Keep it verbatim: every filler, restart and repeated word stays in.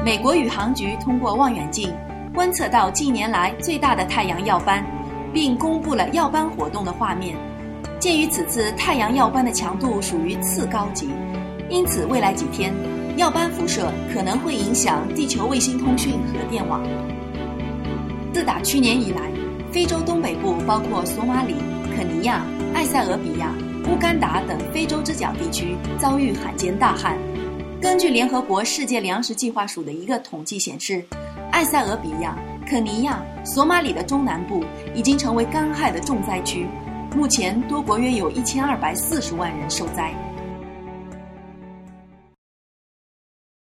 美国宇航局通过望远镜观测到近年来最大的太阳耀斑，并公布了耀斑活动的画面。鉴于此次太阳耀斑的强度属于次高级，因此未来几天耀斑辐射可能会影响地球卫星通讯和电网。自打去年以来，非洲东北部包括索马里、肯尼亚、埃塞俄比亚、乌干达等非洲之角地区遭遇罕见大旱。根据联合国世界粮食计划署的一个统计显示，埃塞俄比亚、肯尼亚、索马里的中南部已经成为干旱的重灾区，目前多国约有一千二百四十万人受灾。